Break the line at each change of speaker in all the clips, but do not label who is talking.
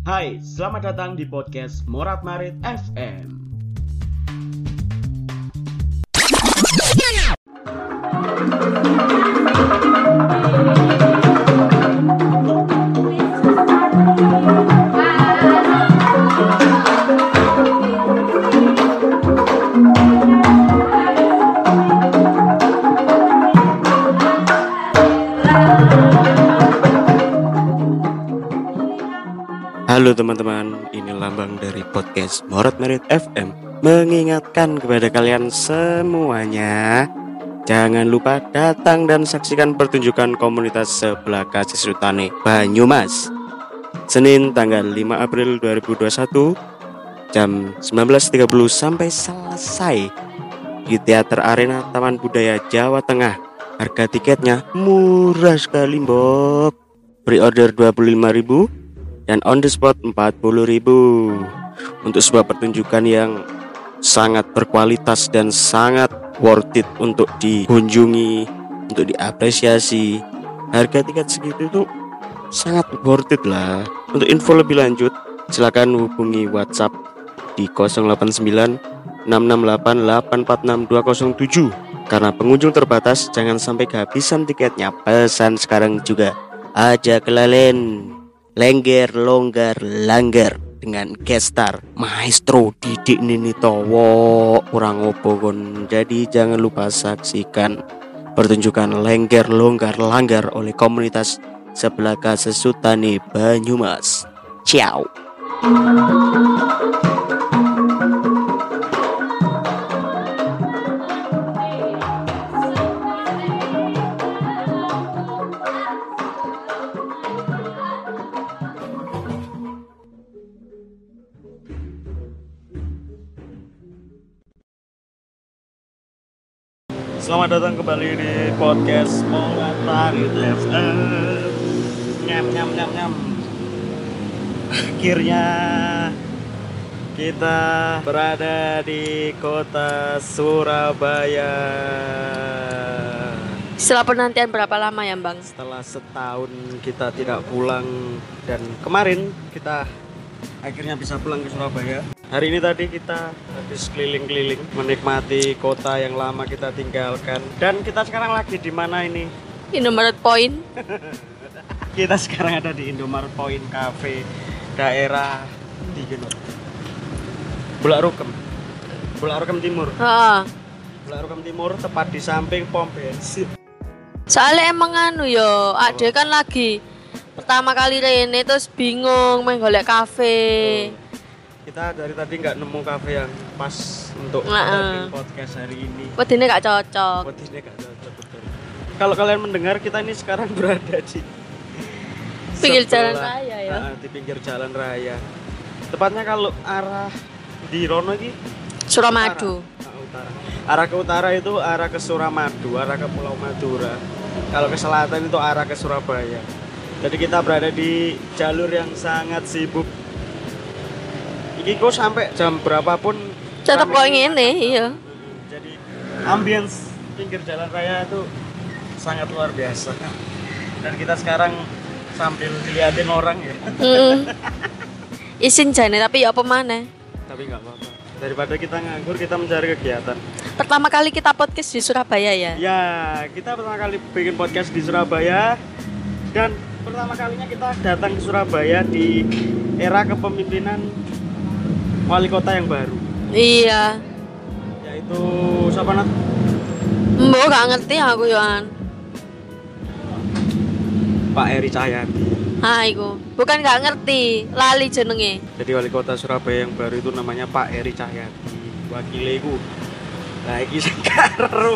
Hai, selamat datang di podcast Morat Marit FM.
Halo teman-teman, ini Lambang dari podcast Morat Marit FM mengingatkan kepada kalian semuanya, jangan lupa datang dan saksikan pertunjukan komunitas sebelah kasih Sutane Banyumas Senin tanggal 5 April 2021 jam 19.30 sampai selesai di Teater Arena Taman Budaya Jawa Tengah. Harga tiketnya murah sekali, Mbok. Pre-order 25.000 dan on the spot 40.000 untuk sebuah pertunjukan yang sangat berkualitas dan sangat worth it untuk dikunjungi, untuk diapresiasi. Harga tiket segitu itu sangat worth it lah. Untuk info lebih lanjut silakan hubungi WhatsApp di 089 668 846 207. Karena pengunjung terbatas, jangan sampai kehabisan tiketnya. Pesan sekarang juga aja kelalen. Lengger, longgar, langgar dengan guest star Maestro Didik Ninitowo kurang opo kon. Jadi jangan lupa saksikan pertunjukan Lengger, Longgar, Langgar oleh komunitas sebelah Sesutane Banyumas. Ciao.
Selamat datang kembali di podcast Morat Marit FM. Nyam. Akhirnya kita berada di kota Surabaya.
Setelah penantian berapa lama ya, Bang?
Setelah setahun kita tidak pulang, dan kemarin kita akhirnya bisa pulang ke Surabaya. Hari ini tadi kita habis keliling-keliling menikmati kota yang lama kita tinggalkan. Dan kita sekarang lagi di mana ini?
Indomaret Point.
Kita sekarang ada di Indomaret Point Cafe, daerah di Bulak Rukem Timur. Bulak Rukem Timur, tepat di samping pom bensin.
Soalnya emang Ade kan lagi pertama kali rene terus bingung main golek kafe.
Kita dari tadi nggak nemu kafe yang pas untuk podcast hari ini.
Wedine gak cocok.
Betul. Kalau kalian mendengar, kita ini sekarang berada di
Pinggir jalan raya ya.
Di pinggir jalan raya. Tepatnya kalau arah di Rono ini
Suramadu.
Utara. Arah ke utara itu arah ke Suramadu, arah ke Pulau Madura. Kalau ke selatan itu arah ke Surabaya. Jadi kita berada di jalur yang sangat sibuk. Iki kok sampai jam berapapun
Tetap kok ngene, iya.
Jadi ambience pinggir jalan raya itu sangat luar biasa. Dan kita sekarang sambil diliatin orang ya.
Isin jane tapi ya apa maneh.
Tapi enggak apa-apa. Daripada kita nganggur, kita mencari kegiatan.
Pertama kali kita podcast di Surabaya ya.
Ya, kita pertama kali bikin podcast di Surabaya. Dan pertama kalinya kita datang ke Surabaya di era kepemimpinan wali kota yang baru.
Iya.
Yaitu siapa Nat?
Mbok gak ngerti aku yoan.
Pak Eri Cahyadi.
Iku. Bukan gak ngerti, lali jenenge.
Jadi wali kota Surabaya yang baru itu namanya Pak Eri Cahyadi. Wakile iku. Lah iki sing karo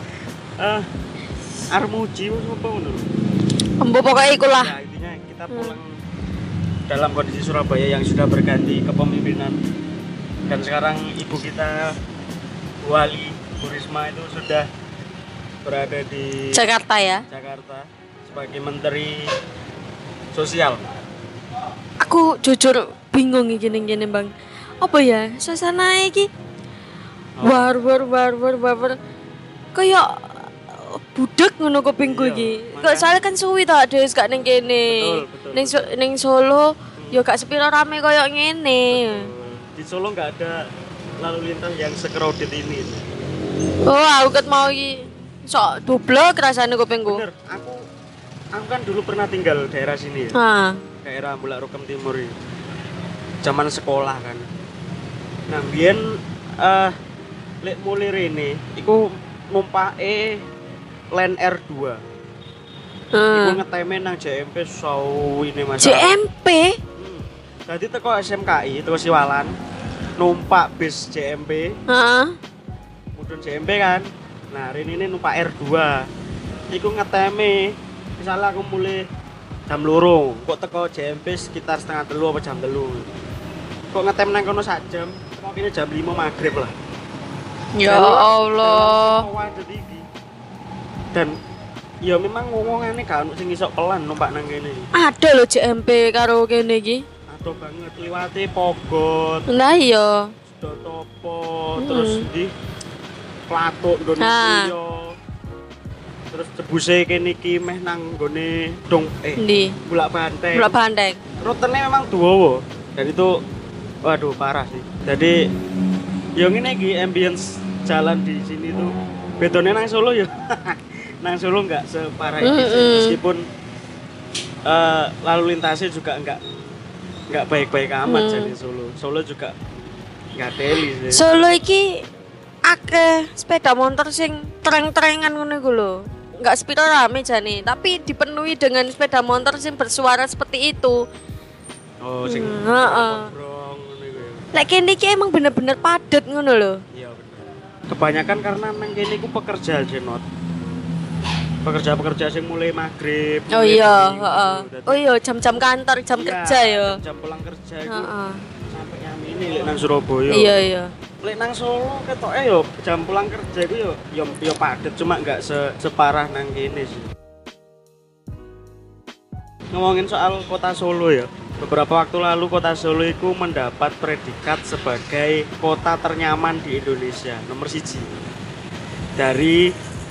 Armuji apa ngono.
Mbok pokoke iku lah.
Ya, intinya kita pulang dalam kondisi Surabaya yang sudah berganti kepemimpinan. Dan sekarang ibu kita Wali Bu Risma itu sudah berada di
Jakarta ya.
Jakarta sebagai Menteri Sosial.
Aku jujur bingung iki gini Bang. Apa ya? Suasana iki war. Kayak budek ngono kupingku iki. Kok soalnya kan suwi ta Des gak ning kene.
Betul.
Ning Solo yo gak sepiro rame koyo ngene.
Di Solo nggak ada lalu lintas yang sekrowded ini.
Oh, aku ket mau iki sok dublek rasane kupingku.
Bener, aku kan dulu pernah tinggal daerah sini ya.
Ha.
Daerah Bulak Rukem Timur ini. Zaman sekolah kan. Nah, biyen lek mulai rene iku numpake Line R2. Iku ngeteme nang JMP sawine Mas.
JMP?
Jadi teko SMKI, teko Siwalan, numpak bis JMP.
Heeh.
Mudun JMP kan. Nah, ini numpak R2. Iku ngeteme. Misalnya aku mulai jam 2, kok teko JMP sekitar setengah 3 apa jam 3. Kok ngetem nang kono sak jam, kok kene jam 5 maghrib lah.
Ya Allah.
Dan ya memang ngomongane gak ono sing iso pelan numpak nang kene.
Ada lho JMP karo kene iki.
Aduh banget liwate Pogot,
Lah iya.
Dotopo, terus di Platuk nggon
Ah.
yo. Terus cebuse kene iki meh nang nggone dong
Ndi?
Bulak Banteng.
Bulak Banteng.
Rutenya memang dawa. Dan itu waduh parah sih. Jadi yo ngene iki ambience jalan di sini tuh bedone nang Solo ya. Nang Solo enggak separah ini sih. Meskipun lalu lintasnya juga enggak baik-baik amat jadi Solo. Solo juga enggak teli sih.
Solo iki akeh sepeda motor sing tereng-terengan ngono iku lho. Enggak sepiro rame jane, tapi dipenuhi dengan sepeda motor sing bersuara seperti itu.
Oh, sing
Heeh.
brong ngono iku ya.
Lek kene iki emang bener-bener padet ngono lho.
Iya bener. Kebanyakan karena nang kene iku pekerja jenot. Pekerja-pekerja sing mulai maghrib.
Oh
mulai
iya,
minggu,
heeh.
dadi-
Oh iya, jam-jam kantor, jam
Iya,
kerja ya.
Jam pulang kerja itu
Heeh.
sampai yang ini lek nang Surabaya.
Iya, iya.
Lek nang Solo ketoke yo jam pulang kerja itu yo padet cuma enggak separah nang kene sih. Ngomongin soal kota Solo ya. Beberapa waktu lalu kota Solo itu mendapat predikat sebagai kota ternyaman di Indonesia nomor 1 dari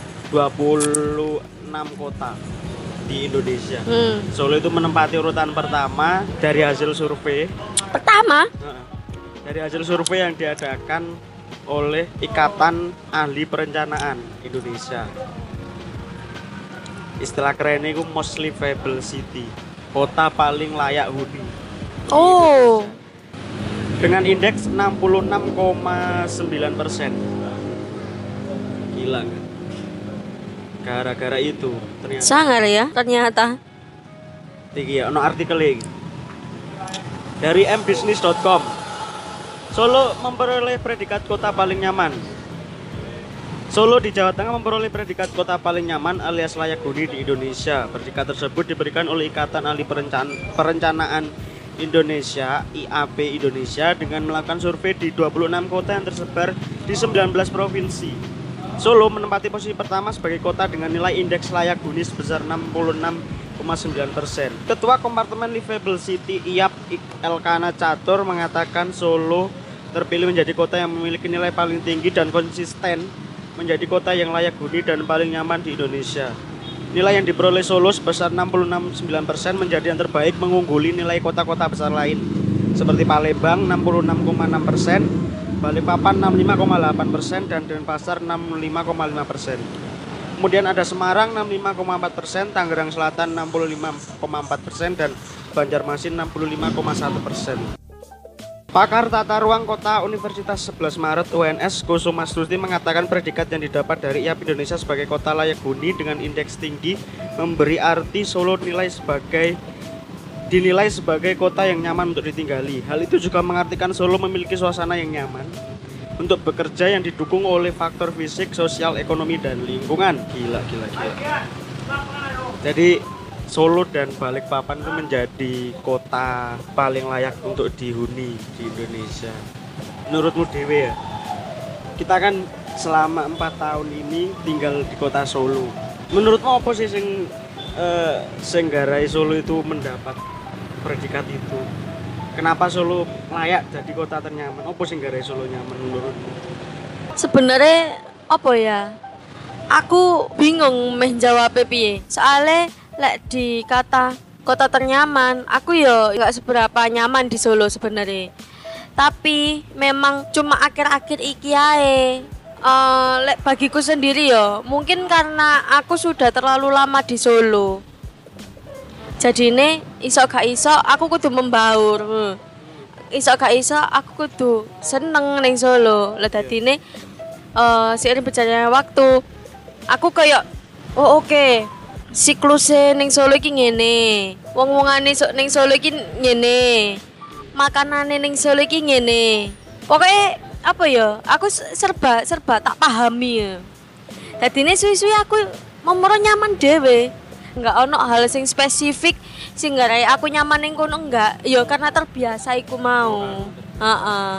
26 kota di Indonesia. Solo itu menempati urutan pertama dari hasil survei.
Pertama,
Dari hasil survei yang diadakan oleh Ikatan Ahli Perencanaan Indonesia. Istilah kerennya itu most livable city, kota paling layak huni.
oh,
Dengan indeks 66,9%. Gila kan? Gara-gara itu ternyata.
sangar ya ternyata.
Iki ya, ono artikel iki. Dari mbusiness.com. Solo memperoleh predikat kota paling nyaman. Solo di Jawa Tengah memperoleh predikat kota paling nyaman alias layak huni di Indonesia. Predikat tersebut diberikan oleh Ikatan Ahli Perencanaan Indonesia (IAP Indonesia) dengan melakukan survei di 26 kota yang tersebar di 19 provinsi. Solo menempati posisi pertama sebagai kota dengan nilai indeks layak huni sebesar 66,9%. Ketua Kompartemen Livable City IAP Elkana Catur mengatakan Solo terpilih menjadi kota yang memiliki nilai paling tinggi dan konsisten menjadi kota yang layak huni dan paling nyaman di Indonesia. Nilai yang diperoleh Solo sebesar 66,9% menjadi yang terbaik, mengungguli nilai kota-kota besar lain seperti Palembang 66,6%, Balikpapan 65,8% dan Denpasar 65,5%. Kemudian ada Semarang 65,4%, Tangerang Selatan 65,4% dan Banjarmasin 65,1%. Pakar Tata Ruang Kota Universitas 11 Maret UNS Kusumastuti mengatakan predikat yang didapat dari IAP Indonesia sebagai kota layak huni dengan indeks tinggi memberi arti Solo dinilai sebagai kota yang nyaman untuk ditinggali. Hal itu juga mengartikan Solo memiliki suasana yang nyaman untuk bekerja yang didukung oleh faktor fisik, sosial, ekonomi, dan lingkungan. Gila. Jadi Solo dan Balikpapan itu menjadi kota paling layak untuk dihuni di Indonesia. Menurutmu Dewe ya? Kita kan selama 4 tahun ini tinggal di kota Solo. Menurutmu apa sih sing garai Solo itu mendapat predikat itu? Kenapa Solo layak jadi kota ternyaman? Apa sing garai Solo nyaman menurutmu?
Sebenarnya apa ya? Aku bingung meh jawab piye. Soale lek dikata kota ternyaman. Aku yo nggak seberapa nyaman di Solo sebenarnya. Tapi memang cuma akhir-akhir iki ae. Bagiku sendiri yo, mungkin karena aku sudah terlalu lama di Solo. Jadi ini iso gak iso aku kudu membaur. Iso gak iso aku kudu seneng ning Solo. Lah dadine seiring berjalannya waktu aku kayak oke. Siklusnya ning Solo iki ngene. Wong-wongane ning Solo iki ngene. Makanane ning Solo iki ngene. Pokoknya apa ya? Aku serba tak pahami ya. Dadine suwi-suwi aku momoro nyaman dhewe. Enggak ono hal sing spesifik sing garai aku nyaman ning kono enggak. Ya karena terbiasa iku mau. Heeh.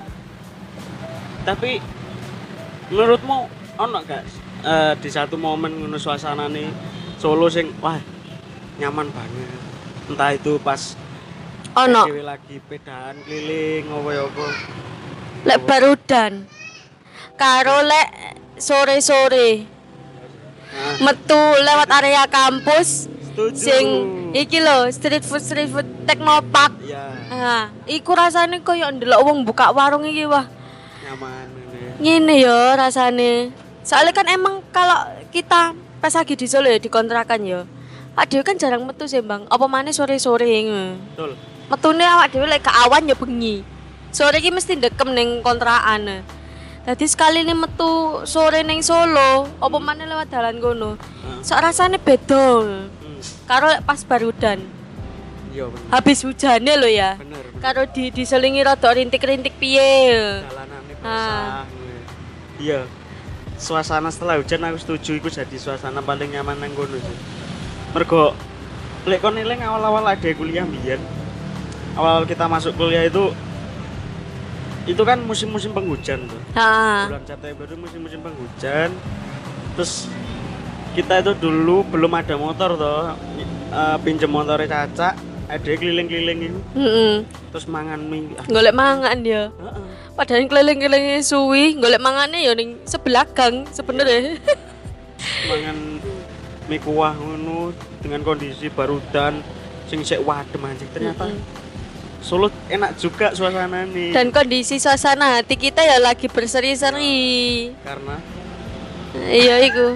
Tapi menurutmu ono gak di satu momen ngono suasanane Solo sing wah nyaman banget. Entah itu pas
Ono
dhewe lagi pedaan keliling apa.
lek barudan. Karo lek sore-sore. Metu lewat area kampus
Setuju.
sing iki lho street food Teknopark.
Iya,
Iku rasane koyo ndelok wong buka warung iki wah.
nyaman ini.
Ngene ya rasane. Soalnya kan emang kalau kita pas lagi di Solo ya di kontrakan ya. Awak dhewe kan jarang metu sih, Bang. Apa maneh sore-sore ngono.
Betul.
Metune awak dhewe lek ke awan ya bengi. Sore iki mesti ndekem ning kontrakan. Dadi sekali ini metu sore ning Solo, apa maneh lewat dalan kono. Sok rasane beda. Karo lek pas barudan.
Iya bener.
Habis hujane lho ya.
Bener.
Karo diselingi rada rintik-rintik piye.
Jalanane basah. Iya. Suasana setelah hujan aku setuju iku jadi suasana paling nyaman nang kono sih. Mergo lek kon eling awal-awal ada kuliah mbiyen. Awal kita masuk kuliah itu kan musim-musim penghujan tuh.
Heeh.
Bulan September itu musim-musim penghujan. Terus kita itu dulu belum ada motor toh. Pinjem motornya Caca, ada keliling-keliling itu. Terus mangan mie.
Golek mangan ya.
Heeh.
Padahal keliling-kelilingnya suwi, golek mangane ya ning sebelah gang sebenarnya.
Mangan mie kuah ngono dengan kondisi barudan sing sik wadem anjing ternyata. Solo enak juga suasananya.
Dan kondisi suasana hati kita ya lagi berseri-seri.
Karena
Iya iku.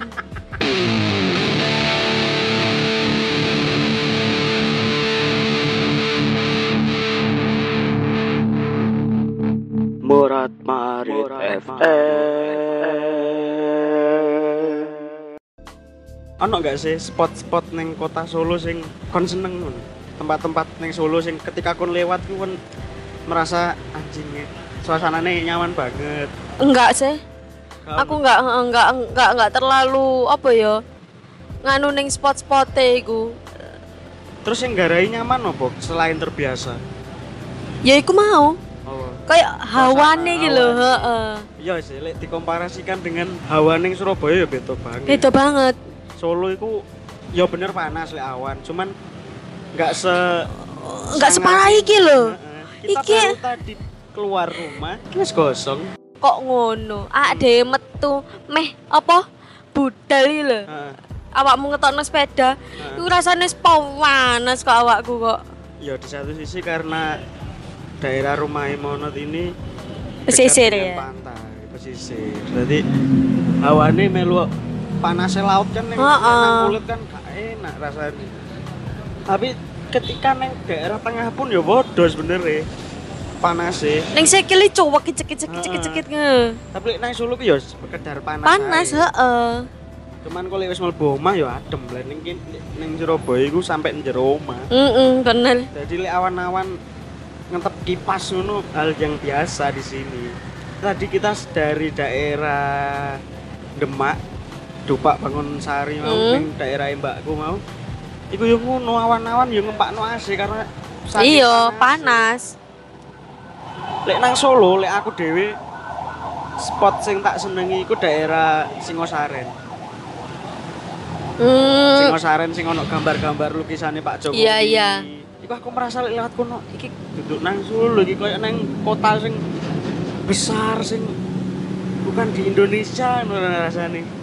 Morat Marit FM.
ono gak sih spot-spot neng kota Solo sing kon seneng ngono? Tempat-tempat neng Solo sing ketika kon lewat ku kon merasa anjingnya suasananya nyaman banget.
Enggak sih.
Kamu?
Aku enggak terlalu apa ya? Nganu ning spot-spote iku.
Terus yang garai nyaman opo selain terbiasa?
Ya iku mau.
Oh.
Kayak hawane iki lho,
hawane.
heeh.
Iya sih, lek dikomparasikan dengan hawa ning Surabaya ya beda banget.
Beda banget.
Solo itu ya bener panas lek awan, cuman nggak
Separah iki lho.
Kita
Iki
baru tadi keluar rumah, iki wis gosong.
kok ngono? Ade metu meh apa? Budal iki lho.
Heeh.
Awakmu ngetokno sepeda, iku rasane panas kok awakku kok.
Ya di satu sisi karena daerah rumah Monot ini
Pesisir
dekat dengan
ya?
pantai, pesisir. Jadi hawane melu panasnya laut kan neng kulit kan gak enak rasanya. Tapi ketika neng daerah tengah pun ya bodoh sebenernya panasnya.
Ning sikile cuwek cekit nge.
Tapi neng Solo ki ya sekedar panas.
Panas,
ae.
heeh.
Cuman kalau wis mlebu omah ya adem lah ning Surabaya iku sampai njero omah.
Bener.
Jadi lek awan-awan ngentep kipas ngono hal yang biasa di sini. Tadi kita dari daerah Demak, Dupak Bangun Sari mau ning daerah mbakku mau. Iku yo ngono awan-awan yo ngempakno AC karena saking
Iya,
panas.
panas.
Lek nang Solo, lek aku dhewe spot sing tak senengi iku daerah Singosaren. Singosaren sing ono gambar-gambar lukisane Pak Jokowi.
Iya, iya.
Iku aku merasa lewat kono iki duduk nang Solo iki koyo nang kota sing besar sing bukan di Indonesia ngono rasane.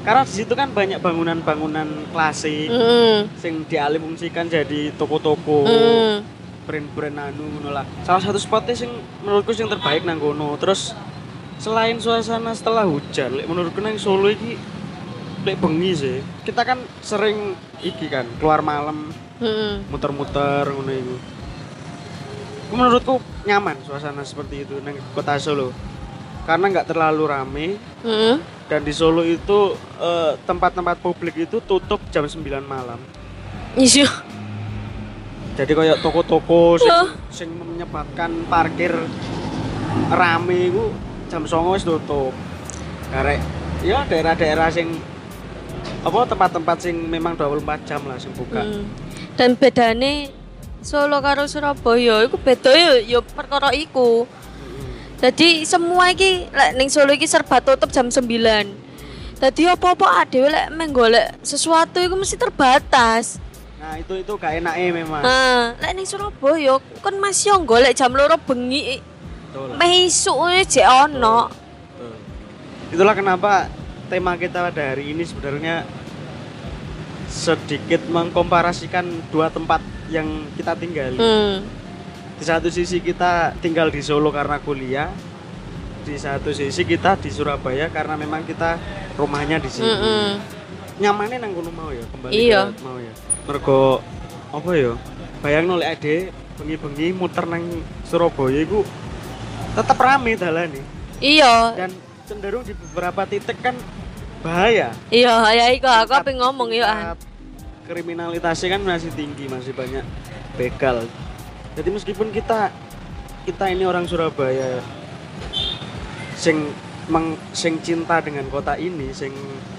Karena di situ kan banyak bangunan-bangunan klasik sing dialih-fungsikan jadi toko-toko, brand-brand anu ngono lah. Salah satu spotnya sing menurutku sing terbaik nang kono. Terus selain suasana setelah hujan, menurutku nang Solo iki lek bengi sih. Kita kan sering iki kan keluar malam, muter-muter ngono iku. Menurutku nyaman suasana seperti itu nang kota Solo. Karena nggak terlalu rame. Dan di Solo itu tempat-tempat publik itu tutup jam 9 malam.
Iya.
Jadi kayak toko-toko sing menyebabkan parkir rame itu jam 09.00 wis tutup. Karek ya daerah-daerah sing apa tempat-tempat sing memang 24 jam lah sing buka.
Dan bedane Solo karo Surabaya iku beda ya perkara iku. Jadi semua iki lek ning Solo iki serba tutup jam 9. Dadi apa-apa dhewe lek menggolek sesuatu iku mesti terbatas.
Nah, itu gak enake memang.
Nah, lek ning Surabaya kon masih yo golek jam 2 bengi.
Betul.
Meh isuk jek ono.
Itulah kenapa tema kita pada hari ini sebenarnya sedikit mengkomparasikan dua tempat yang kita tinggali. Di satu sisi kita tinggal di Solo karena kuliah, di satu sisi kita di Surabaya karena memang kita rumahnya di sini. Nyamannya nang kono mau ya, kembali ke mau ya. Mergo apa ya? Bayangno lek ade bengi-bengi muter nang Surabaya iku tetep rame dalane.
Iya.
Dan cenderung di beberapa titik kan bahaya.
Iya, ya iku aku pengen ngomong ya.
Kriminalitasnya kan masih tinggi, masih banyak begal. Jadi meskipun kita ini orang Surabaya sing cinta dengan kota ini, sing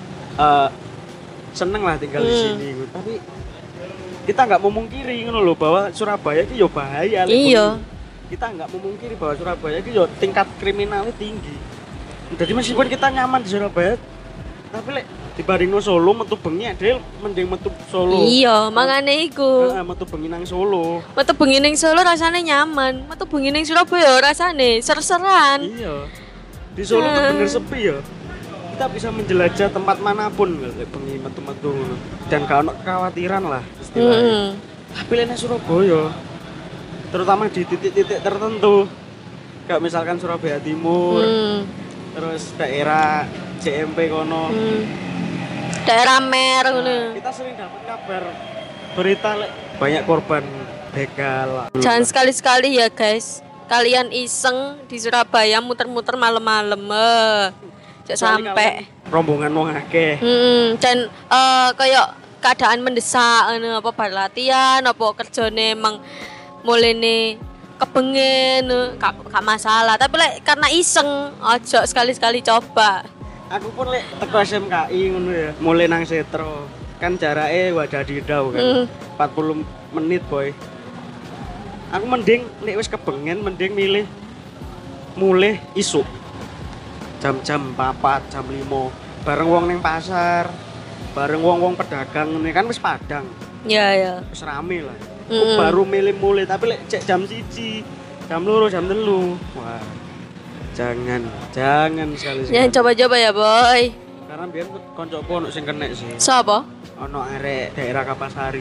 seneng lah tinggal di sini, tapi kita nggak memungkiri ngono loh bahwa Surabaya itu yo bahaya.
Iya.
Kita nggak memungkiri bahwa Surabaya itu yo tingkat kriminalnya tinggi. Jadi meskipun kita nyaman di Surabaya, tapi lek dibandingno Solo metu bengi adil mending metu Solo.
Iya, mangane iku.
Metu bengi nang Solo.
Metu bengi ning Solo rasane nyaman, metu bengi ning Surabaya rasane ser-seran.
Iya. Di Solo tuh bener sepi ya. Kita bisa menjelajah tempat manapun lek bengi metu-metu ngono. Dan gak ono kekhawatiran lah istilahnya. Tapi lek nang Surabaya terutama di titik-titik tertentu kayak misalkan Surabaya Timur, terus daerah JMP kono. Daerah Mer ngono. Kita sering dapat kabar berita banyak korban begal.
Jangan sekali-sekali ya guys. Kalian iseng di Surabaya muter-muter malam-malam. Jangan sampai
rombongan wong akeh.
Dan kayak keadaan mendesak ngono apa bar latihan apa kerjane emang mulene kepengen gak masalah. Tapi karena iseng ojo sekali-sekali coba.
Aku pun lek teko SMKI ngono ya, mulai nang Setro. Kan jarake wadadidau kan. 40 menit, boy. Aku mending lek wis kebengen mending milih mulai isuk. Jam-jam 4, jam 5. Bareng wong ning pasar, bareng wong-wong pedagang ngene kan wis padang.
Iya.
Wis rame lah. Baru milih mulai tapi lek cek jam 1, jam 2, jam 3. Wah. Jangan sekali-sekali.
Jangan coba-coba ya, boy.
Karena biar koncoku ono sing kena sih.
Sapa?
Ono arek daerah Kapasari.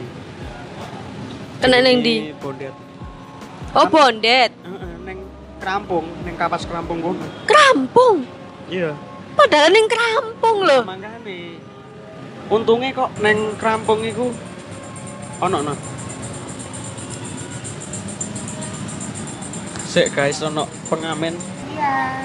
Kena ning ndi?
Bondet.
Oh, Bondet.
Ning Krampung, ning Kapas Krampung kono.
Krampung.
Iya.
Padahal ning Krampung lho.
Mangkane. Untungnya kok ning Krampung iku ono. Sik guys, ono pengamen. Iya.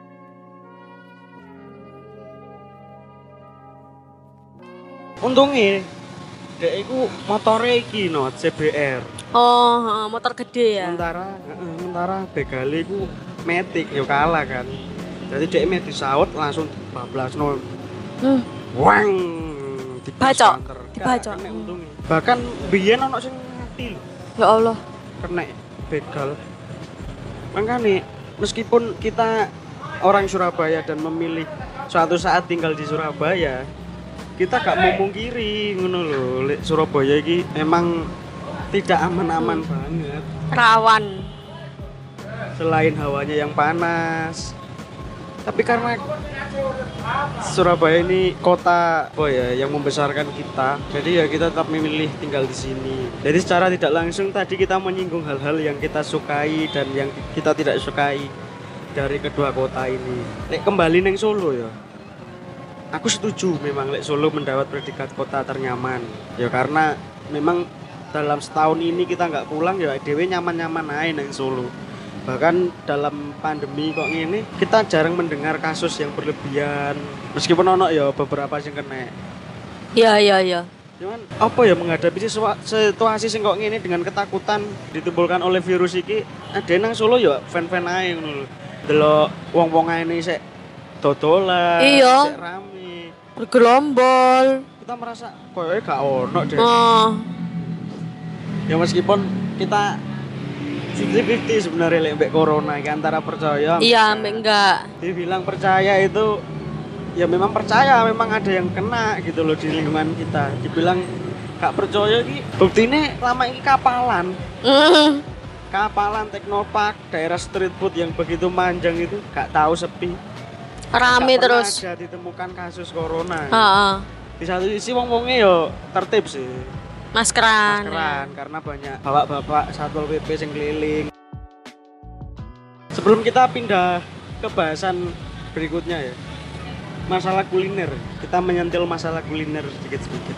Untungnya dek iku motore iki no CBR.
Oh, motor gede ya.
Sementara begale iku Matic yo kalah kan. Jadi dek Matic saut langsung bablasno. Wang
dibacok.
Untungnya. Bahkan biyen ono sing mati lho.
Ya Allah.
Kena begal. Makanya meskipun kita orang Surabaya dan memilih suatu saat tinggal di Surabaya, kita gak memungkiri ngono lho, Surabaya iki memang tidak aman-aman banget.
Rawan.
Selain hawanya yang panas, Tapi karena Surabaya ini kota yang membesarkan kita, jadi ya kita tetap memilih tinggal di sini. Jadi secara tidak langsung tadi kita menyinggung hal-hal yang kita sukai dan yang kita tidak sukai dari kedua kota ini. Kembali neng Solo ya, aku setuju memang Solo mendapat predikat kota ternyaman. Ya karena memang dalam setahun ini kita nggak pulang ya dewe nyaman-nyaman aja neng Solo. Bahkan dalam pandemi kok ini kita jarang mendengar kasus yang berlebihan, meskipun ono ya beberapa yang kena.
Iya.
Cuman apa ya menghadapi situasi sing kok ngene dengan ketakutan ditimbulkan oleh virus iki, ada nang Solo ya fan-fan ae ngono lho. Delok wong-wong ngene sik dodolan, sik rame,
bergerombol.
Kita merasa koyoke gak ono deh. Ya meskipun kita 50-50 sebenarnya mbek corona iki antara percaya.
Iya, enggak.
Dibilang percaya itu ya memang percaya, memang ada yang kena gitu loh di lingkungan kita. Dibilang gak percaya iki buktine lama ini kapalan. Kapalan Teknopark, daerah street food yang begitu manjang itu gak tahu sepi.
Rame terus.
Ada ditemukan kasus corona. Di satu sisi wong-wonge yo tertib sih. Maskeran karena banyak bapak-bapak Satpol PP yang keliling. Sebelum kita pindah ke bahasan berikutnya ya, masalah kuliner. Kita menyentil masalah kuliner sedikit-sedikit.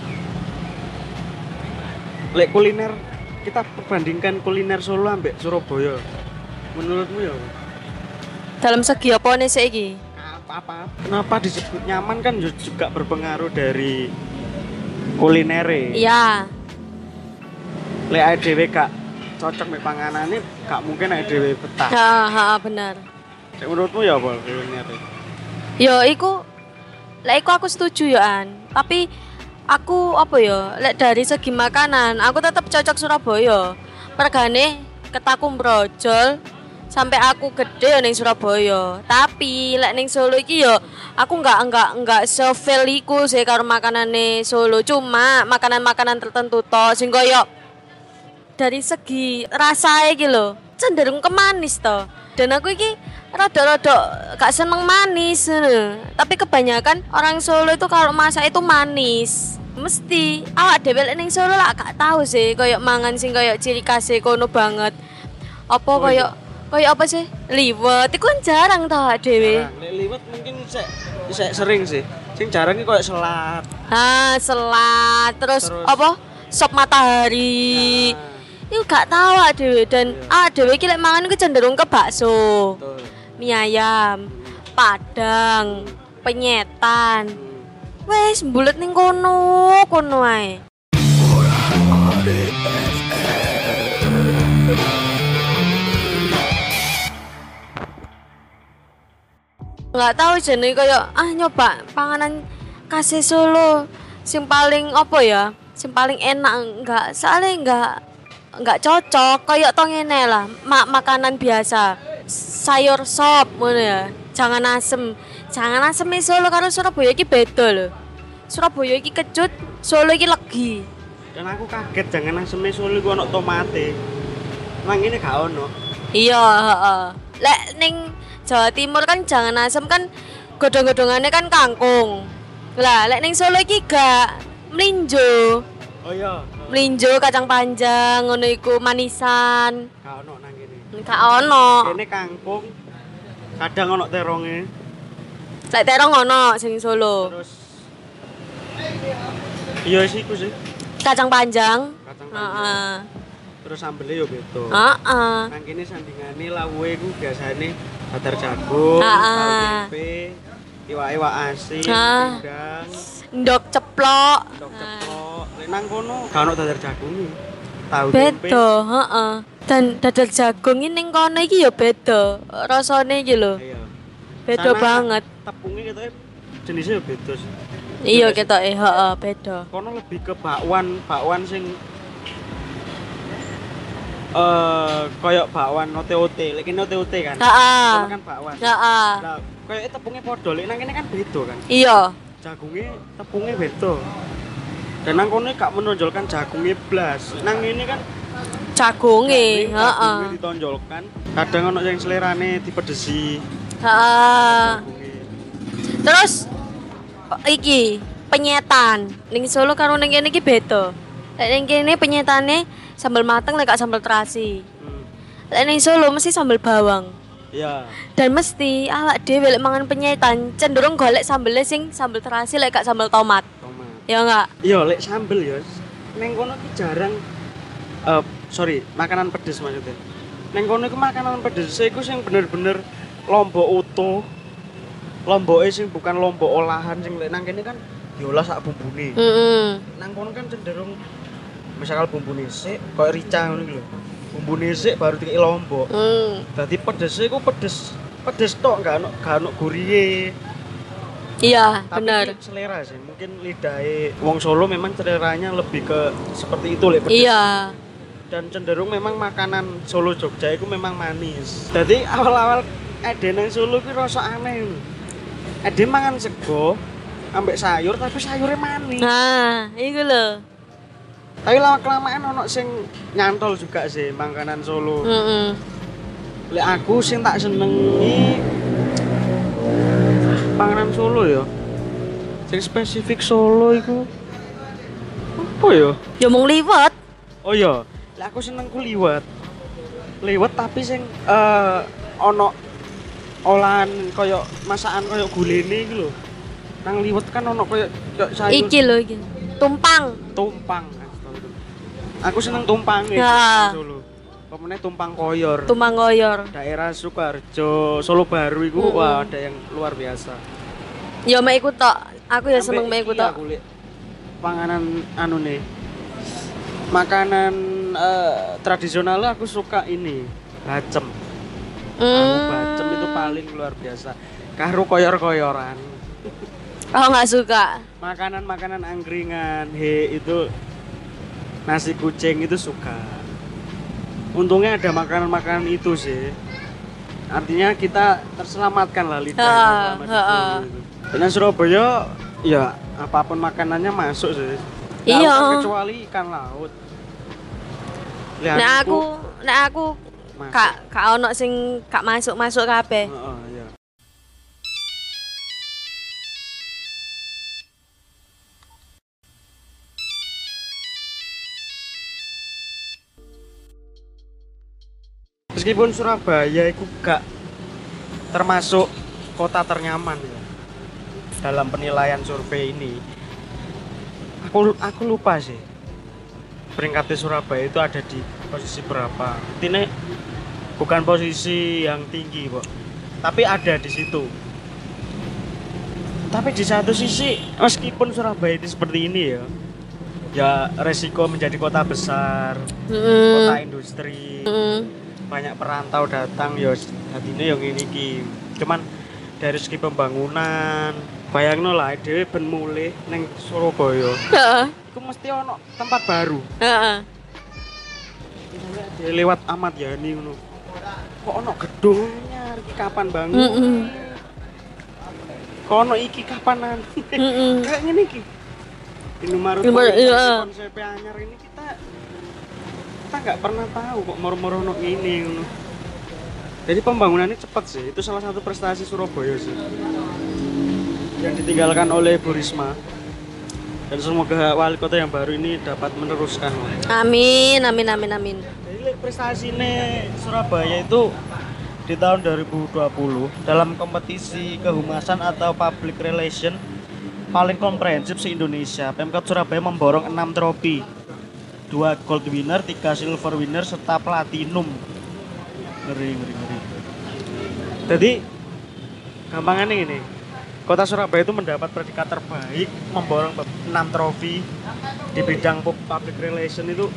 Kuliner, kita perbandingkan kuliner Solo ambek Surabaya. Menurutmu ya?
Dalam segi apa nih saiki?
Apa? Kenapa disebut nyaman kan juga berpengaruh dari kulinere.
Iya.
Lek dhewe gak cocok mek panganane, gak mungkin dhewe betah.
Benar.
Cek menurutmu ya apa kuliner?
Ya iku aku setuju ya An. Tapi aku lek dari segi makanan, aku tetap cocok Surabaya. Pergane ketakum brojol sampai aku gede ya ning Surabaya. Tapi lek ning Solo iki ya aku enggak se-feel iku sih karo makanane Solo. Cuma makanan-makanan tertentu to sing koyo dari segi rasa iki lho cenderung ke manis to. Dan aku iki rada-rada gak seneng manis. Tapi kebanyakan orang Solo itu kalau masak itu manis. Mesti awak dhewe ning Solo lah gak tahu sih koyo mangan sing koyo ciri khas kono banget. Apa koyo apa sih? Liwet. Iku kan jarang tau dhewe.
Lek liwet mungkin sik sering sih. Sing jarang iki koyo selat.
Selat. Terus apa? Sop matahari. Iku gak tahu dhewe dan dhewe iki lek mangan iku cenderung ke bakso.
Betul.
Mie ayam, padang, penyetan. Wes mbulet ning kono ae. Nggak tahu jenenge koyo nyoba panganan khas Solo sing paling sing paling enak enggak cocok koyo to ngene lah makanan biasa sayur sop ngono ya jangan asem Solo karo Surabaya iki beda lho. Surabaya iki kecut, Solo iki legi.
Dan aku kaget jangan asem Solo iku ono tomate. Nang ini gak ono.
Iya, Lek ning Jawa Timur kan jangan asem kan godhong-godhongane kan kangkung. Lah lek ning Solo iki gak mlinjo.
Oh iya.
Mlinjo kacang panjang ngono iku manisan.
Gak ono nang kene.
Gak ono.
Kene kangkung. Kadang ono teronge.
Lek terong ono sing Solo.
Terus iya sih iku sih.
Kacang panjang.
Terus sambelnya yo beda. Nang kene sandingane lawuhe iku biasane batar jagung, tahu tempe, iwak asin, pindang,
ndok ceplok.
Lek nang kono gak ono dadar jagung. Tahu tempe.
Beda, Dan dadar jagung iki ning kono iki ya beda. Rasane iki lho.
Iya.
Beda banget.
Tepungnya ketoke jenisnya ya beda sih.
Iya ketoke, beda.
Kono lebih ke bakwan sing koyo bakwan ote-ote, lek kene ote-ote kan. Kono kan bakwan. Lah, koyo tepungnya padha, lek nang kene kan beda kan.
Iya.
Jagungnya tepungnya beda. Dan nang kono gak menonjolkan jagungnya blas. Nang ini kan
jagunge,
jagungnya ditonjolkan. Kadang ono yang selerane dipedesi.
Terus iki penyetan ning Solo karo ning kene iki beda. Lek ning kene penyetane sambal mateng lek gak sambal terasi. Lek ning Solo mesti sambal bawang.
Ya.
Dan mesti awak dhewe lek mangan penyetan cenderung golek sambele sing sambal terasi lek gak sambal tomat. Ya enggak?
Iya, lek sambel ya. Neng kono ki jarang sorry, makanan pedes maksudnya. Neng kono iku makanan pedes iku sing bener-bener lombok utuh. Lomboke sing bukan lombok olahan sing lek nang kene kan diolah sak bumbune. Nang kono kan cenderung misalkan bumbune sik koyo rica ngono iki lho. Bumbune sik baru dikek lombok. Dadi pedese iku pedes tok gak ono guriye.
Iya,
Tapi
benar.
selera sih, mungkin lidahe wong Solo memang seleranya lebih ke seperti itu lek pedes.
Iya.
Dan cenderung memang makanan Solo Jogja itu memang manis. Jadi awal-awal ade nang Solo ki rasa aneh lho. Ade mangan sego ambek sayur tapi sayurnya manis.
Nah, iku lho.
Tapi lama-kelamaan ono sing nyantol juga sih makanan Solo. Lek aku sing tak senengi panganan Solo ya. Sing spesifik Solo iku apa ya?
Ya mung liwet.
Oh iya, lek aku seneng ku liwet. Liwet tapi sing ono olahan koyo masakan koyo gulene iki lho. Nang liwet kan ono koyo sayur.
Iki lho iki. Tumpang.
Tumpang. Aku seneng tumpang
Ya.
Solo. Pemene tumpang koyor.
Tumpang koyor.
Daerah Sukoharjo, Solo Baru iku wah ada yang luar biasa.
Ya mek iku tok. Aku ya seneng mek iku
Iki
tok.
aku liat panganan anu nih. Makanan tradisional aku suka ini, bacem. Bacem itu paling luar biasa. Karo koyor-koyoran.
Oh nggak suka.
Makanan-makanan angkringan, itu nasi kucing itu suka. Untungnya ada makanan-makanan itu sih. Artinya kita terselamatkan lah lidah selama di Solo itu. Dan Surabaya ya apapun makanannya masuk sih.
Iya.
Nggak kecuali ikan laut. Lihat
Nek aku
masuk.
kak ono sing gak masuk kabeh.
Heeh, iya. Meskipun Surabaya itu gak termasuk kota ternyaman ya dalam penilaian survei ini, aku lupa sih peringkatnya Surabaya itu ada di posisi berapa. Ini bukan posisi yang tinggi kok, tapi ada di situ. Tapi di satu sisi meskipun Surabaya itu seperti ini ya resiko menjadi kota besar, kota industri, banyak perantau datang ya hadine yang ini ki. Cuman dari segi pembangunan bayangno lah dhewe ben mulih ning Surabaya.
Heeh.
Iku mesti ono tempat baru.
Heeh.
Misalnya dia lewat Ahmad Yani ngono. Kok ono gedung anyar iki kapan bangun? Kok ono iki kapanan? Kayak ngene iki. Indomaret konsep anyar ini kita nggak pernah tahu kok moro-moro ono ngene ngono. Jadi pembangunannya cepat sih. Itu salah satu prestasi Surabaya sih. Yang ditinggalkan oleh Bu Risma. Dan semoga wali kota yang baru ini dapat meneruskan.
Amin.
Jadi prestasi ini Surabaya itu di tahun 2020 dalam kompetisi kehumasan atau public relation paling komprehensif se-Indonesia. Pemkot Surabaya memborong 6 trofi. 2 gold winner, 3 silver winner, serta platinum. Ngeri. Jadi gampangannya ini, Kota Surabaya itu mendapat predikat terbaik, memborong 6 trofi di bidang public relation itu.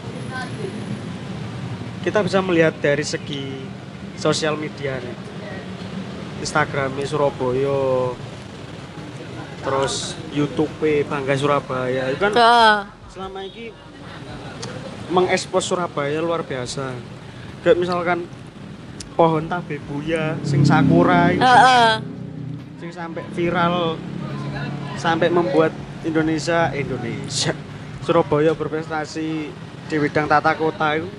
Kita bisa melihat dari segi sosial media nih. Instagramnya Surabaya, terus YouTube Bangga Surabaya, itu kan selama ini mengekspos Surabaya luar biasa. Kayak misalkan pohon tabebuya sing sakura itu, sing sampai viral, sampai membuat Indonesia Surabaya berprestasi di bidang tata kota itu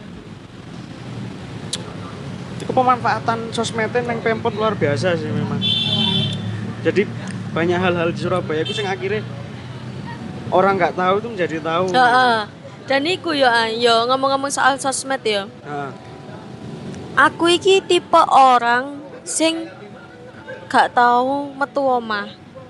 pemanfaatan sosmednya yang Pemkot luar biasa sih memang. Jadi banyak hal-hal di Surabaya itu yang akhirnya orang nggak tahu itu menjadi tahu.
Dan iku yo ngomong-ngomong soal sosmed ya.
Heeh.
Aku iki tipe orang sing gak tahu metu omah.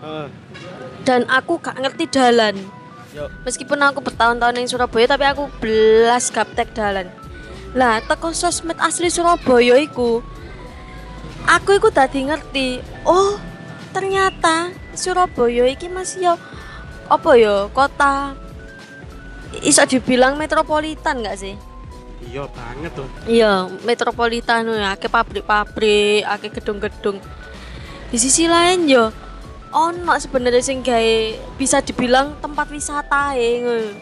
Dan aku gak ngerti dalan.
Yo.
Meskipun aku bertahun-tahun di Surabaya tapi aku belas gaptek dalan. Lah teko sosmed asli Surabaya iku aku tadi ngerti. Oh, ternyata Surabaya iki masih yo apa ya kota iso dibilang metropolitan gak sih?
Iya banget tuh.
Iya, metropolitan ya, akeh pabrik-pabrik, akeh gedung-gedung. Di sisi lain yo ono sebenarnya sing gawe bisa dibilang tempat wisata ngono.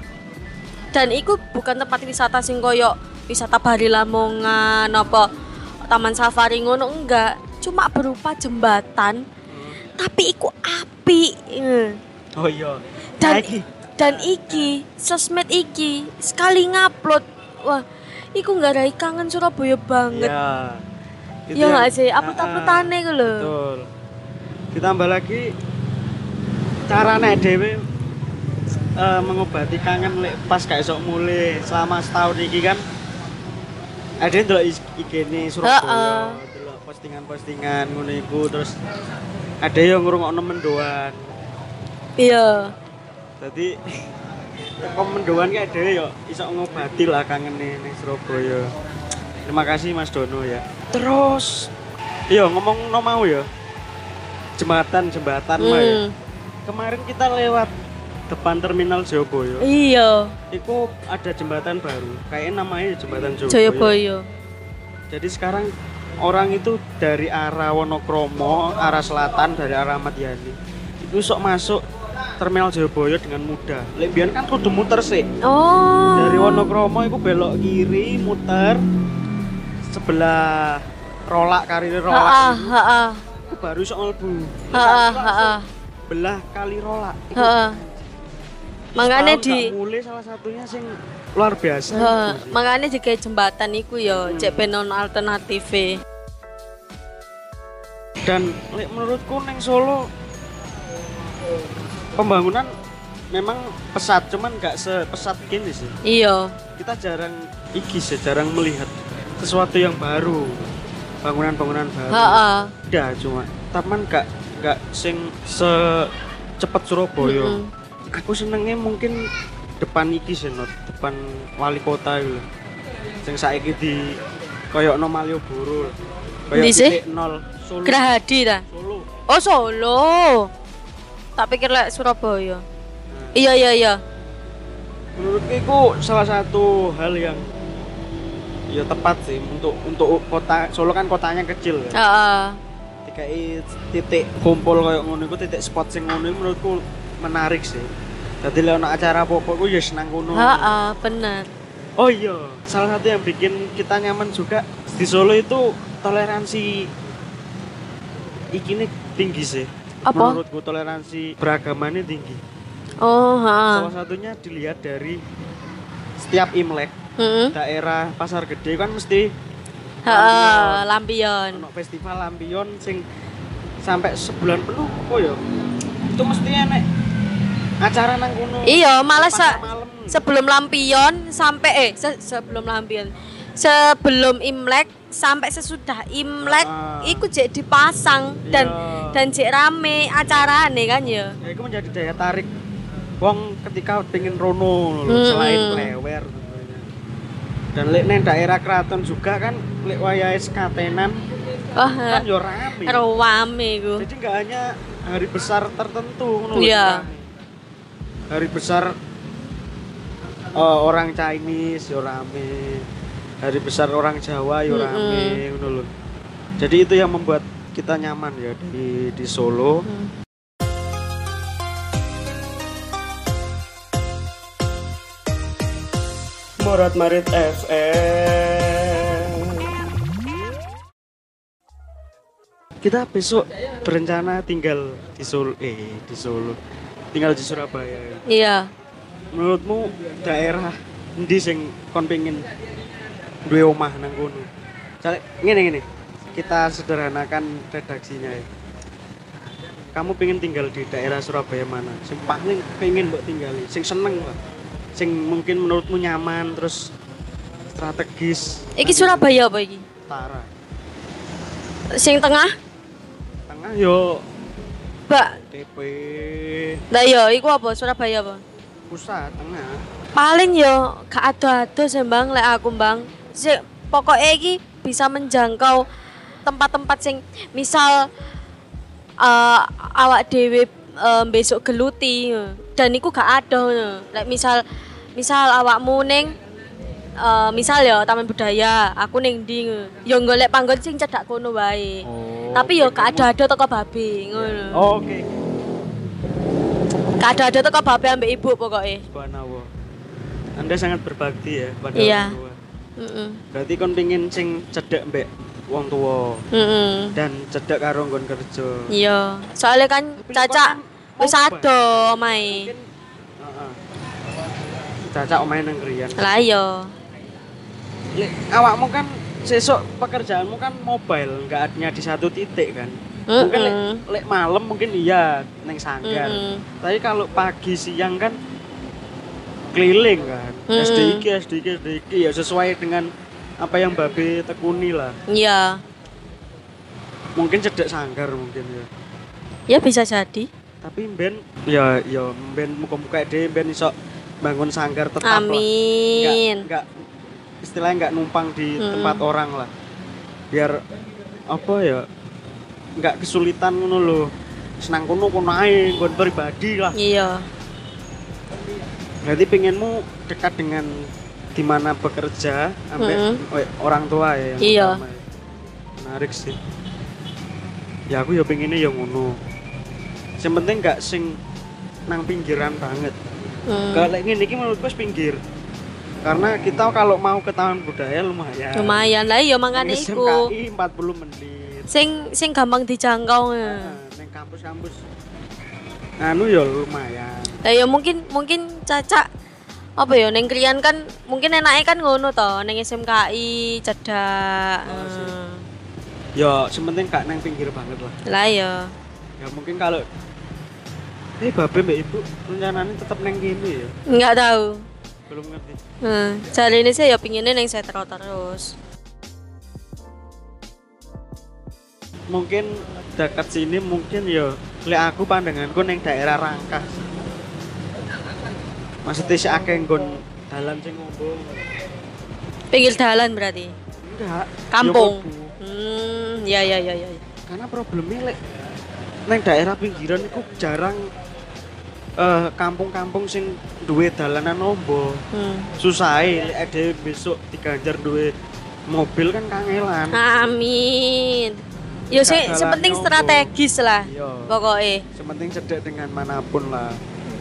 Dan itu bukan tempat wisata sing koyo wisata Bari Lamongan apa Taman Safari ngono enggak, cuma berupa jembatan. Tapi iku apik.
Oh iya.
Dan iki sosmed iki sekali ngupload, wah, iku nggarai kangen Surabaya banget.
Iya.
Iya nggak sih, upload-uploadane ku lho.
Betul. Ditambah lagi cara nek dhewe mengobati kangen lek pas gak esok mulai selama setahun iki kan. Ada yang delok IG-ne Surabaya, delok postingan-postingan ngono iku terus ada yang ngrungokno mendoan.
Iya.
Jadi komendoan kayak dhewe yo iso ngobati lah kangene ning Surabaya. Terima kasih Mas Dono ya. Terus iya ngomong mau ya. Jembatan mah ya. Kemarin kita lewat depan terminal Jayabaya.
Iya.
Itu ada jembatan baru. Kayaknya namanya jembatan
Jayabaya.
Jadi sekarang orang itu dari arah Wonokromo, arah selatan dari arah Ahmad Yani. Itu sok masuk terminal Jayabaya dengan mudah. Lek biyen kan kudu muter sih.
Oh.
Dari Wonokromo itu belok kiri, muter sebelah rolak karir rolak. Itu baru sok mlebu. Belah kali rolak.
Makanya di
mulai salah satunya sing luar biasa.
Makanya digawe jembatan iku ya, cek ben ono alternative.
Dan menurutku neng Solo pembangunan memang pesat, cuman nggak sepesat gini sih.
Iya.
Kita jarang jarang melihat sesuatu yang baru, bangunan-bangunan baru. Udah cuma, taman nggak sing secepat Surabaya. Aku senengnya mungkin depan iki sih, depan wali kota gitu. Sing saiki di koyokno Malioboro.
Ndi sih?
0 Solo.
Gerahadi ta?
Solo.
Oh, Solo. Tak pikir lek Surabaya. Iya.
Menurutku itu salah satu hal yang ya tepat sih untuk kota Solo kan kotanya kecil kan. Titik kumpul kayak ngono iku, titik spot sing ngono menurutku menarik sih. Jadi lek ana acara apa-apa ku ya senang ngono.
Bener.
Oh iya, salah satu yang bikin kita nyaman juga di Solo itu toleransi ikine tinggi sih.
Apa?
Menurutku toleransi beragamannya tinggi. Salah satunya dilihat dari setiap Imlek. Daerah Pasar Gede kan mesti
lampion.
Ono festival lampion sing sampai sebulan penuh kok ya. Itu mesti enek acara nang kono.
Iya, malah sebelum lampion sampai sebelum lampion. Sebelum Imlek sampai sesudah Imlek iku jek dipasang dan jek rame acarane kan ya.
Ya itu menjadi daya tarik wong ketika pengen rono selain lewer. Dan lek neng daerah keraton juga kan lek wayahe sekatenan kan yo rame.
Rame iku.
Jadi enggak hanya hari besar tertentu ngono.
Iya.
Hari besar orang Chinese yo rame. Hari besar orang Jawa yo rame ngono lho. Jadi itu yang membuat kita nyaman ya di Solo. Morat Marit FM. Kita besok berencana tinggal di Solo, tinggal di Surabaya.
Iya.
Menurutmu daerah endi sing kon pengin duwe omah nang kono? Ngene. Kita sederhanakan redaksinya ya. kamu pengen tinggal di daerah Surabaya mana? Sing paling pengen mbok tinggali, sing seneng lah. Sing mungkin menurutmu nyaman terus strategis.
Iki Surabaya apa iki?
Utara.
Sing tengah?
Tengah yo
Mbak.
TP
Lah yo iku apa? Surabaya apa?
pusat tengah.
Paling yo gak ado-ado sih Bang lek aku Bang. Pokoknya iki bisa menjangkau tempat-tempat sing misal awak dhewe besok geluti dan iku gak ada lek misal awakmu ning misal ya Taman Budaya, aku ning ndi yo golek panggon sing cedhak kono wae. Tapi yo gak ada teko babi ngono.
Oh, oke.
Gak ada teko babi ambek ibu pokoknya.
Subhanallah. Anda sangat berbakti ya pada
Iya.
orang tua. Berarti kon pengin sing cedhak mbek wong tua dan cedhak karo nggon kerja.
Iya, soalnya kan Caca wis ado omahe.
Mungkin Caca omahe nang Krian.
Lah iya.
Lek awakmu kan sesuk pekerjaanmu kan mobile, enggak hanya di satu titik kan. Mungkin lek malam mungkin iya neng sanggar. Tapi kalau pagi siang kan keliling kan. SDIK ya sesuai dengan apa yang Babe tekuni lah.
Iya.
Mungkin cedek sanggar mungkin ya.
Ya bisa jadi.
Tapi ben ya ben muka-muka dhewe ben iso bangun sanggar tetap
Amin.
lah. Enggak istilahnya enggak numpang di tempat orang lah. Biar apa ya? Enggak kesulitan ngono lho. Senang kono ae nggon pribadi lah.
Iya.
Berarti pengenmu dekat dengan di mana bekerja sampai orang tua ya yang
iya.
Pertama ya. Menarik sih. Ya aku ya pengennya ya ngono. Yang penting enggak sing nang pinggiran banget. Kalau ngene iki menurutku wis pinggir. Karena kita kalau mau ke Taman Budaya lumayan.
Lumayan lah iya mangane iku.
SMKI 40 menit.
Sing gampang dijangkau ya.
Neng kampus-kampus. Anu ya lumayan.
Lah ya mungkin Caca apa ya neng Krian kan mungkin enake kan ngono to neng SMKI cedak.
Ya sementing gak neng pinggir banget lah.
Lah ya.
Ya mungkin kalau Babe mbak ibu rencananya tetap neng kini ya.
Enggak tahu.
Belum ngerti.
Jare ini saya ya pinginnya neng Setro terus.
Mungkin dekat sini mungkin ya lek aku pandanganku neng daerah Rangkas. Maksudnya si akeh nggon dalan sing ngombo.
Pinggir dalan berarti.
Enggak.
Kampung.
Ya,
Ya.
karena problemnya lek neng daerah pinggiran itu jarang kampung-kampung sing duwe dalanan ombo. Susah lek dhewe besok diganjar duwe mobil kan kangelan.
Amin. Yo sing penting strategis lah.
Iya.
Pokoknya.
Sepenting cedek dengan manapun lah.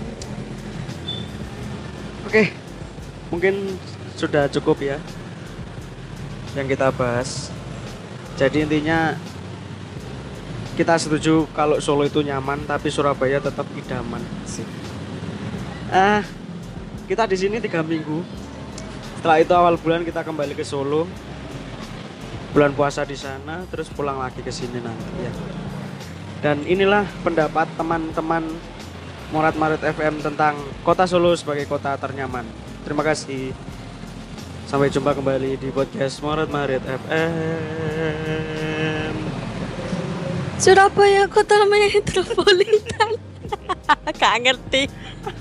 Oke. Mungkin sudah cukup ya yang kita bahas. Jadi intinya kita setuju kalau Solo itu nyaman tapi Surabaya tetap idaman. Kita di sini 3 minggu. Setelah itu awal bulan kita kembali ke Solo. Bulan puasa di sana terus pulang lagi ke sini nanti ya. Dan inilah pendapat teman-teman Morat Marit FM tentang Kota Solo sebagai kota ternyaman. Terima kasih. Sampai jumpa kembali di podcast Morat Marit FM.
Surabaya kota metropolitan. Gak ngerti.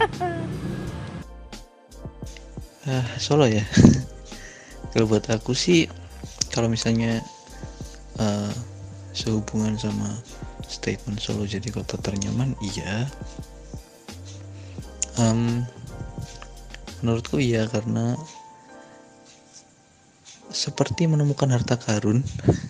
Solo ya. Kalau buat aku sih kalau misalnya sehubungan sama statement Solo jadi kota ternyaman, iya. Menurutku iya, karena seperti menemukan harta karun.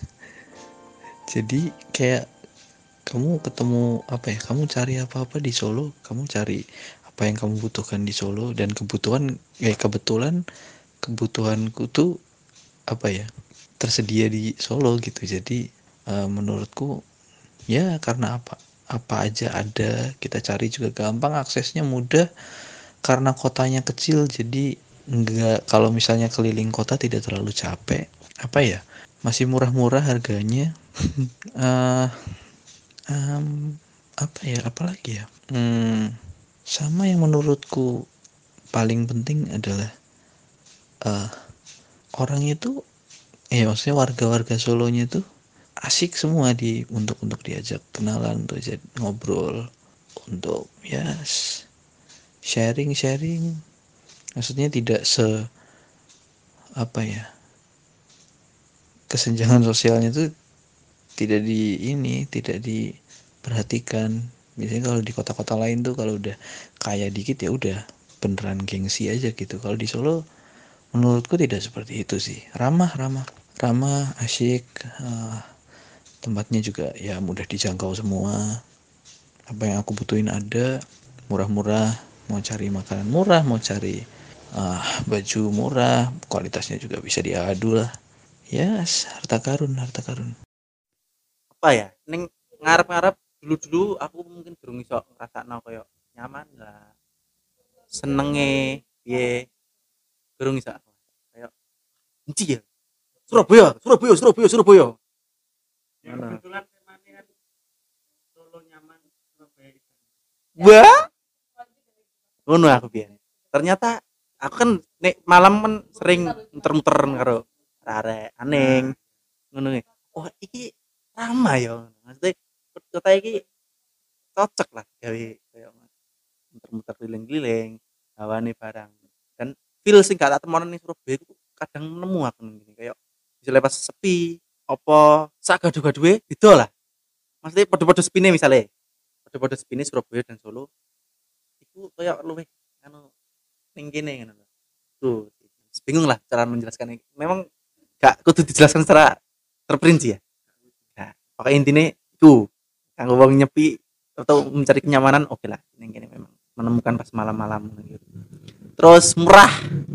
Jadi kayak kamu ketemu kamu cari apa-apa di Solo, kamu cari apa yang kamu butuhkan di Solo, dan kebetulan kebutuhanku tuh tersedia di Solo gitu. Jadi menurutku ya karena apa aja ada, kita cari juga gampang, aksesnya mudah karena kotanya kecil. Jadi kalau misalnya keliling kota tidak terlalu capek, masih murah-murah harganya. apa ya, apalagi ya, sama yang menurutku paling penting adalah orang itu, ya maksudnya warga-warga Solonya itu asik semua untuk diajak kenalan, untuk ngobrol, untuk ya sharing, maksudnya tidak apa ya, kesenjangan sosialnya itu tidak diperhatikan. Biasanya kalau di kota-kota lain tuh kalau udah kaya dikit ya udah beneran gengsi aja gitu. Kalau di Solo menurutku tidak seperti itu sih. Ramah, asyik, tempatnya juga ya mudah dijangkau semua. Apa yang aku butuhin ada, murah-murah, mau cari makanan murah, mau cari baju murah, kualitasnya juga bisa diadu lah. Yes, harta karun.
Apa ya? Ning ngarep-ngarep dulu aku mungkin durung iso ngrasakno koyo nyaman lah. Senenge piye durung iso. Kayak benci ya. Surabaya.
Ya kebetulan temanya kan Solo nyaman, Surabaya.
Wah, ngono aku biyen. Ternyata aku kan nek malam kan sering muter-muter karo arek aneh. Ngono iki. Oh, iki ramah ya. Maksudnya kota iki cocok lah gawe kayak muter-muter keliling-keliling, hawane barang. Dan feel sing gak tak temono ning Surabaya itu kadang nemu aku ngene kayak misalnya pas sepi apa sak gaduh-gaduhe beda lah. Maksudnya padha-padha sepine misalnya. Padha-padha sepine Surabaya dan Solo. Iku kayak luwih anu ning kene ngono lho. Tuh, bingung lah cara menjelaskannya. Memang gak kudu dijelaskan secara terperinci ya. Nah, pokoknya intinya itu kanggo wong nyepi atau mencari kenyamanan oke lah. Ning kene memang menemukan pas malam-malam gitu. Terus murah.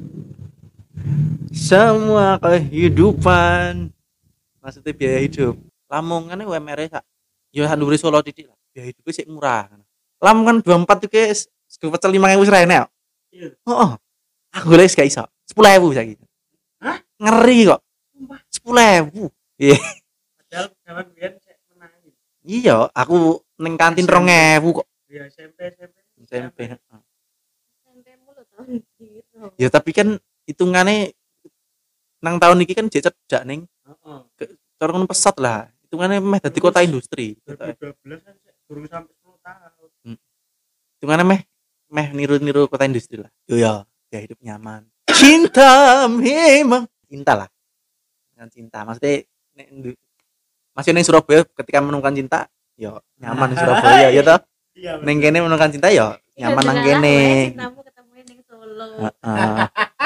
Semua kehidupan maksudnya biaya hidup. Lamongan UMR sak ya handure Solo titik lah. Biaya hidupnya sih murah. Lamongan 24 juga sego pecel 5.000 wis ra enak.
Iya.
Heeh. Aku golek gak iso. 10.000 saiki.
Hah?
Ngeri kok. 10.000. Iya.
Padahal zaman biyen sik menangi.
Iya, aku ning kantin 2.000 kok.
Ya SMP.
SMP. heeh.
SMP-mu lho tahun gitu.
Ya tapi kan hitungannya nang tahun iki kan jek cedak ning
Heeh.
cara ngono pesat lah. Hitungannya meh dadi kota industri.
2012 kan sik durung sampai 10 tahun.
Hitungannya meh niru-niru kota industri lah. Yo ya, ya hidup nyaman. Cinta memang cinta lah. Dengan cinta. Maksudnya masih ning Surabaya ketika menemukan cinta, yo nyaman di Surabaya ya toh.
Iya.
Ning kene menemukan cinta yo nyaman nang kene.
Kamu ketemu ning Solo.
Heeh.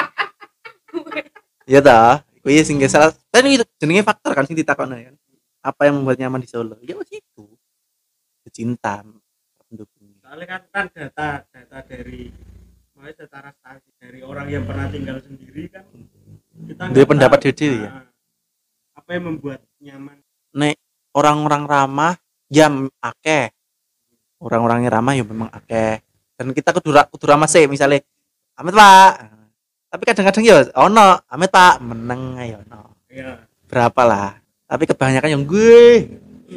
Ya toh. Kuwi sing salah. Kan itu jenenge faktor kan sing ditakokno kan. Apa yang membuat nyaman di Solo? Ya wis itu. Cinta pendukung.
Soalnya kan data dari secara statistik dari orang yang pernah tinggal sendiri kan kita
Dia
nggak
pendapat
tahu,
diri ya.
apa yang membuat nyaman.
Nek orang-orang ramah ya akeh. Orang-orangnya ramah ya memang akeh. Dan kita kudu ramah sih misalnya Amit Pak. Tapi kadang-kadang ya ono Amit Pak meneng ayo ono.
Iya.
Berapa lah. Tapi kebanyakan yang gue.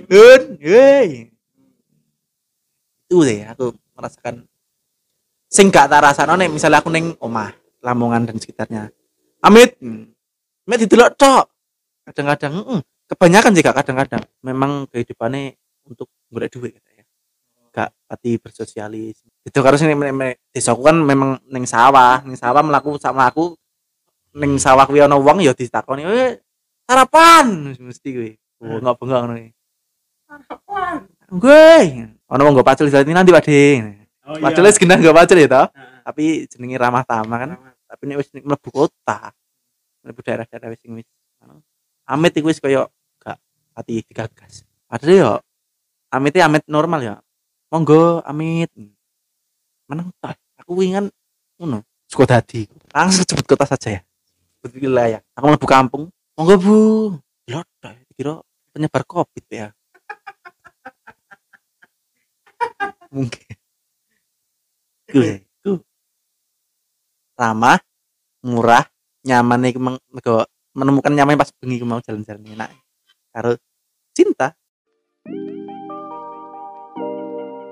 Itu deh aku merasakan sing gak tak rasakno nek misalnya aku ning omah Lamongan dan sekitarnya. Amit. Amit didelok tok. Kadang-kadang kebanyakan sih gak kadang-kadang memang kehidupannya untuk golek duit ya. Gak pati bersosialis. Itu karo sing desaku kan memang ning sawah mlaku sama aku ning sawah kuwi ana wong ya ditakoni, sarapan mesti kuwi. Oh, bengok ngono iki.
Sarapan.
Gue, ana wong nggo pacul nanti Pak De.
Oh iya.
Pacul wis genah nggo pacul ya toh.
Heeh.
Tapi jenenge ramah tamah kan. Tapi nek wis mlebu kota, mlebu daerah-daerah wis sing wis amit iku wis koyo gak pati digagas. Padahal yo amit normal ya. Monggo amit. Meneng toh. Aku wingan ngono. Suka dadi. Langsung sebut kota saja ya. Sebut wilayah. Aku mlebu kampung. Monggo Bu. Lho, kira penyebar Covid ya. Mungkin. Ku. Ramah, murah, nyaman nih menemukan nyaman pas bengi mau jalan-jalan enak. Karo cinta.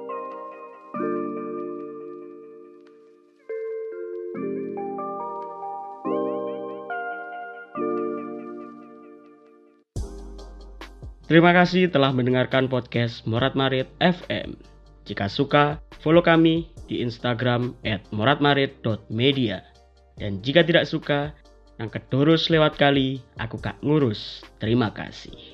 Terima kasih telah mendengarkan podcast Morat Marit FM. Jika suka, follow kami di Instagram @moratmarit.media. Dan jika tidak suka, yang kedurus lewat kali, aku gak ngurus. Terima kasih.